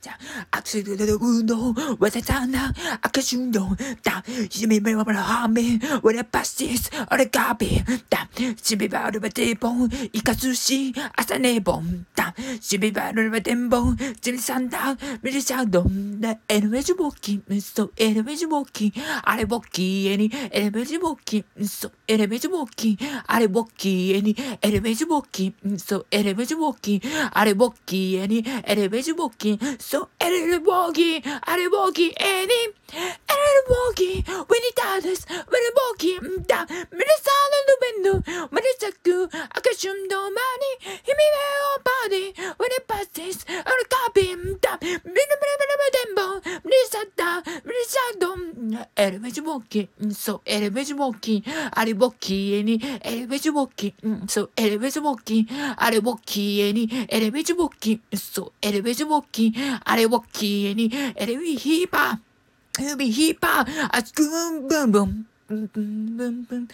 악수도 운동 와사잖아 아까준동 땀 시미바라 하메 원래 파시스 어레 가비 땀 시미바라 바데봉 이카수시 아사네봉 땀 시미바라 바데봉 짐산다 미리샤동 나 에르메주 보기 소 에르메주 보기 아래 보기 애니 에르메주 보기 소 에르메주 보기 아래 보기 애니 에르메주 보기 소 에르메주 보기 아래 보기 애니 에르메주 보기 소 에르메주 보기 아래 보기 애니 에르메주 보기 when it does when it 보기 다 미리사는 누벤누 미리사쿠 아까춤도 많이 힘이 매어 body when it passes 어느 가빔 다 미리미리미리미리덴봉 미리사다 미리사돔 에르메주 보기 소 에르메주 보기 아래 보기 애니 에르메주 보기 소 에르메주 보기 아래 보기 애니 에르메주 보기 소 에르메주 보기 아래 보기 애니 에르미 히바 흐비 히바 아스쿠 붐붐 붐붐붐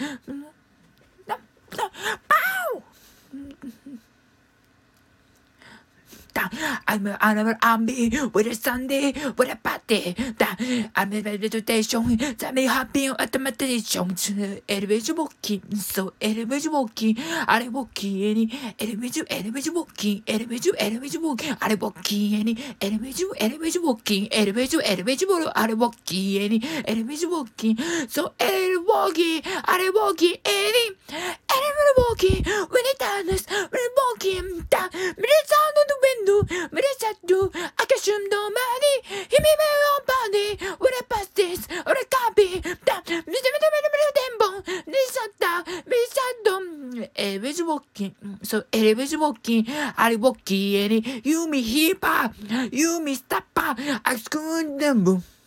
파우 I'm with a Sunday, with a party. I'm a meditation. Tell me happy at the meditation. Elevator walking, so elevator walking. I walking any elevator walking, elevator walking. I walking any elevator walking, elevator. I walking any elevator walking. So elevator walking, I walking any elevator walking. When it does, when it walking, that minutes on the window. 미리사두 아까춤도 많이 힘이 매어 body when I pass this or a copy 땀 미리미리미리미리덴봉 미리사다 미리사돔 elevator walking so elevator walking 아리 walking 애니 유미 힙합 유미 스타파 아스쿠는 붐